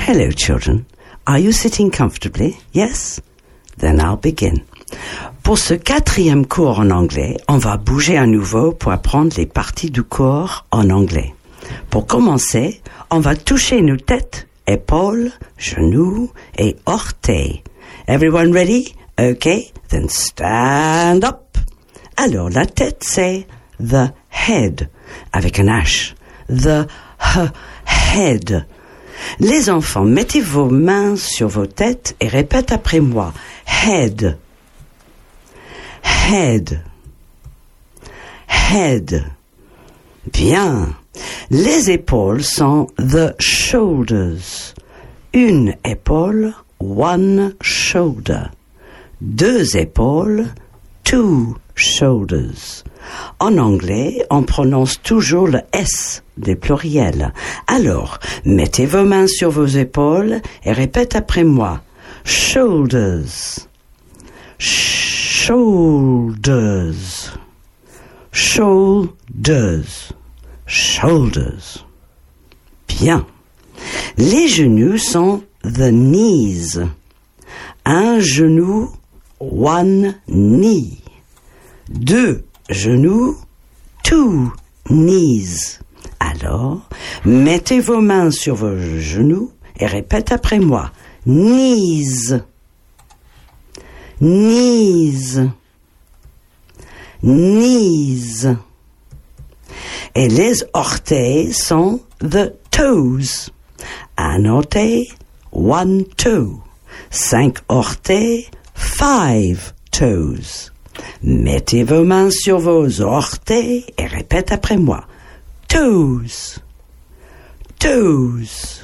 Hello, children. Are you sitting comfortably? Yes? Then I'll begin. Pour ce 4e cours en anglais, on va bouger à nouveau pour apprendre les parties du corps en anglais. Pour commencer, on va toucher nos têtes, épaules, genoux et orteils. Everyone ready? Okay, then stand up. Alors, la tête, c'est the head, avec un H. The head. Les enfants, mettez vos mains sur vos têtes et répète après moi. Head. Head. Head. Bien. Les épaules sont the shoulders. Une épaule, one shoulder. 2 épaules, 2 shoulders. En anglais, on prononce toujours le S des pluriels. Alors, mettez vos mains sur vos épaules et répète après moi. Shoulders. Shoulders. Shoulders. Shoulders. Bien. Les genoux sont the knees. Un genou, one knee. 2 genoux, 2 knees. Alors, mettez vos mains sur vos genoux et répète après moi. Knees. Knees. Knees. Et les orteils sont the toes. Un orteil, one toe. 5 orteils, 5 toes. Mettez vos mains sur vos orteils et répète après moi. Toes. Toes.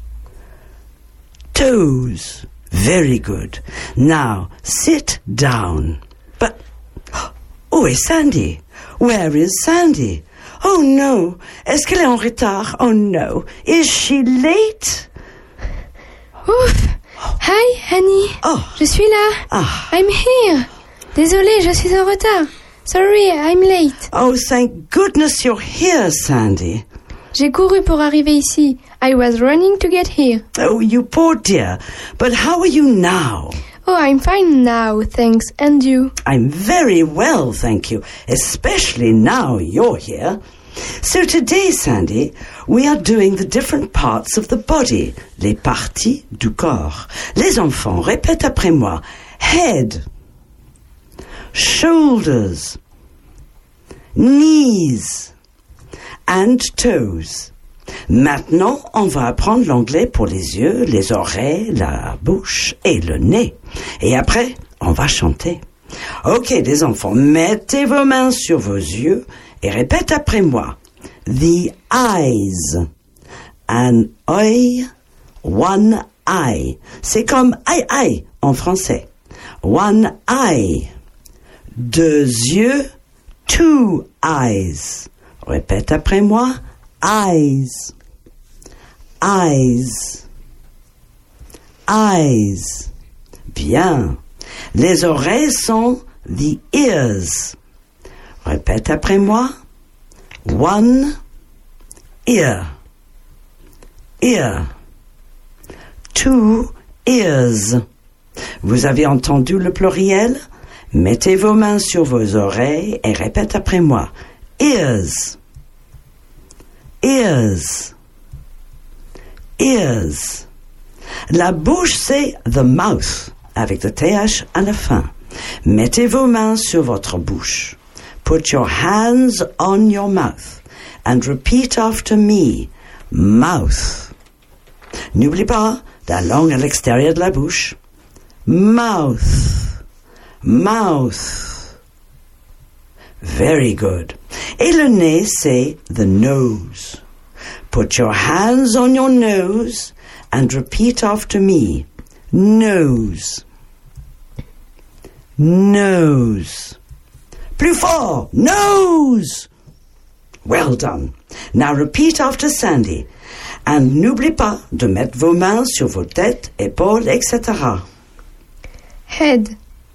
Toes. Very good. Now, sit down. But, où est Sandy? Where is Sandy? Oh no. Est-ce qu'elle est en retard? Oh no. Is she late? Ouf. Hi, Annie. Oh. Je suis là. Ah. I'm here. Désolée, je suis en retard. Sorry, I'm late. Oh, thank goodness you're here, Sandy. J'ai couru pour arriver ici. I was running to get here. Oh, you poor dear. But how are you now? Oh, I'm fine now, thanks. And you? I'm very well, thank you. Especially now you're here. So today, Sandy, we are doing the different parts of the body. Les parties du corps. Les enfants, répète après moi. Head. Shoulders, knees and toes. Maintenant, on va apprendre l'anglais pour les yeux, les oreilles, la bouche et le nez. Et après, on va chanter. Ok, les enfants, mettez vos mains sur vos yeux et répète après moi. The eyes. An eye, one eye. C'est comme aïe en français. One eye. 2 yeux, 2 eyes. Répète après moi. Eyes. Eyes. Eyes. Bien. Les oreilles sont the ears. Répète après moi. One ear. Ear. 2 ears. Vous avez entendu le pluriel? Mettez vos mains sur vos oreilles et répète après moi. Ears. Ears. Ears. La bouche, c'est the mouth, avec le TH à la fin. Mettez vos mains sur votre bouche. Put your hands on your mouth and repeat after me. Mouth. N'oubliez pas la langue à l'extérieur de la bouche. Mouth. Mouth. Very good. Et le nez, c'est the nose. Put your hands on your nose and repeat after me. Nose. Nose. Plus fort. Nose. Well done. Now repeat after Sandy. And n'oubliez pas de mettre vos mains sur vos têtes, épaules, etc. Head.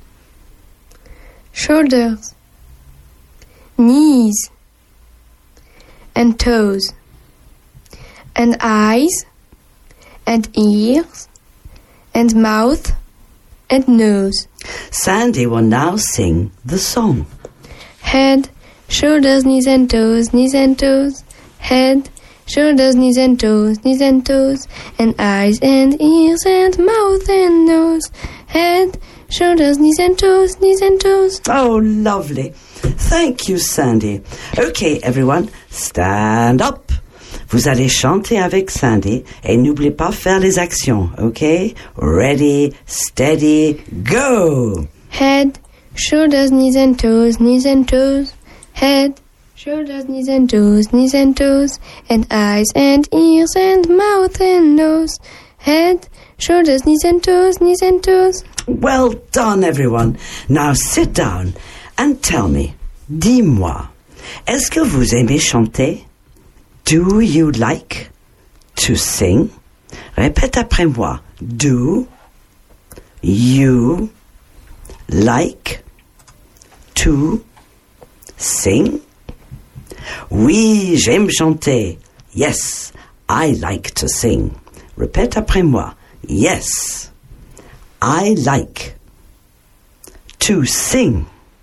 Shoulders. Knees. And toes. And eyes. and ears and mouth and nose. Sandy will now sing the song. Head, shoulders, knees and toes, knees and toes. Head, shoulders, knees and toes, knees and toes. And eyes and ears and mouth and nose. Head, shoulders, knees and toes, knees and toes. Oh, lovely. Thank you, Sandy. Okay, everyone, stand up. Vous allez chanter avec Sandy et n'oubliez pas faire les actions, okay? Ready, steady, go! Head, shoulders, knees and toes, knees and toes. Head, shoulders, knees and toes, knees and toes. And eyes and ears and mouth and nose. Head, shoulders, knees and toes, knees and toes. Well done, everyone. Now sit down and tell me, dis-moi, est-ce que vous aimez chanter? Do you like to sing? Répète après moi. Do you like to sing? Oui, j'aime chanter. Yes, I like to sing. Répète après moi. Yes, I like to sing.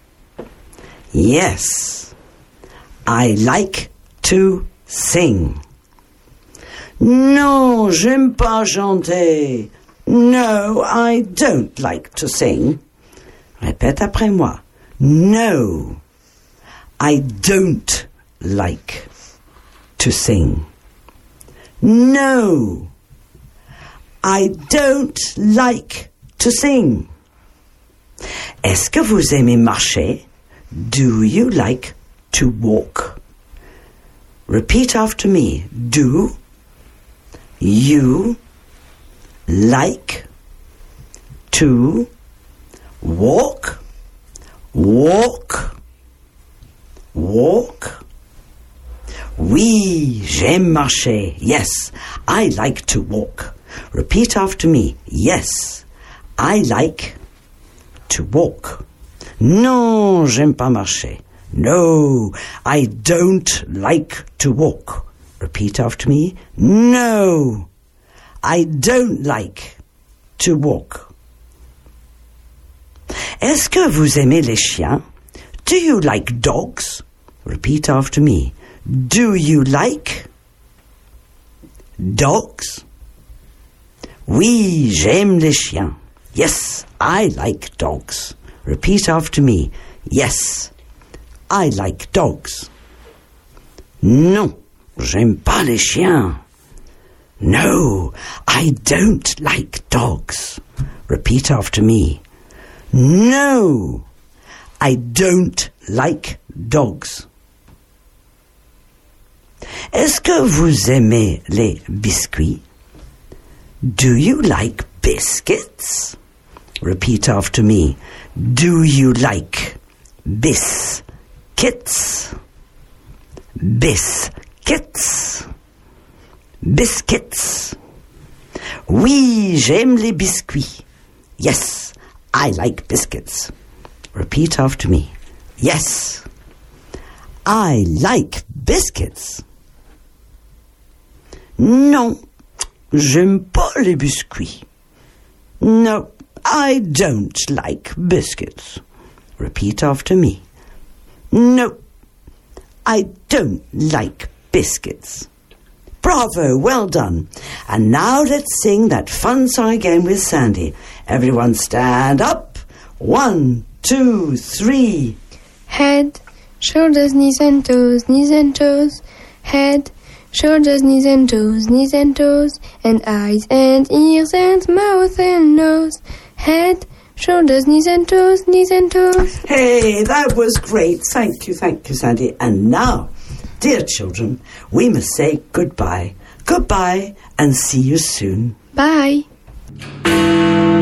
Yes, I like to sing. Non, j'aime pas chanter. No, I don't like to sing. Répète après moi. No, I don't like to sing. No, I don't like to sing. Est-ce que vous aimez marcher? Do you like to walk? Repeat after me. Do you like to walk? Walk. Walk. Oui, j'aime marcher. Yes, I like to walk. Repeat after me. Yes, I like to walk. Non, j'aime pas marcher. No, I don't like to walk. Repeat after me. No, I don't like to walk. Est-ce que vous aimez les chiens? Do you like dogs? Repeat after me. Do you like dogs? Oui, j'aime les chiens. Yes, I like dogs. Repeat after me. Yes, I like dogs. Non, j'aime pas les chiens. No, I don't like dogs. Repeat after me. No, I don't like dogs. Est-ce que vous aimez les biscuits? Do you like biscuits? Repeat after me. Do you like biscuits? Biscuits. Biscuits. Oui, j'aime les biscuits. Yes, I like biscuits. Repeat after me. Yes, I like biscuits. Non, j'aime pas les biscuits. No, I don't like biscuits. Repeat after me. No, I don't like biscuits. Bravo, well done. And now let's sing that fun song again with Sandy. Everyone stand up. 1, 2, 3. Head, shoulders, knees and toes, knees and toes. Head, shoulders, knees and toes, knees and toes. And eyes and ears and mouth and nose. Head, shoulders, knees and toes, knees and toes. Hey, that was great. Thank you, Sandy. And now, dear children, we must say goodbye. Goodbye and see you soon. Bye.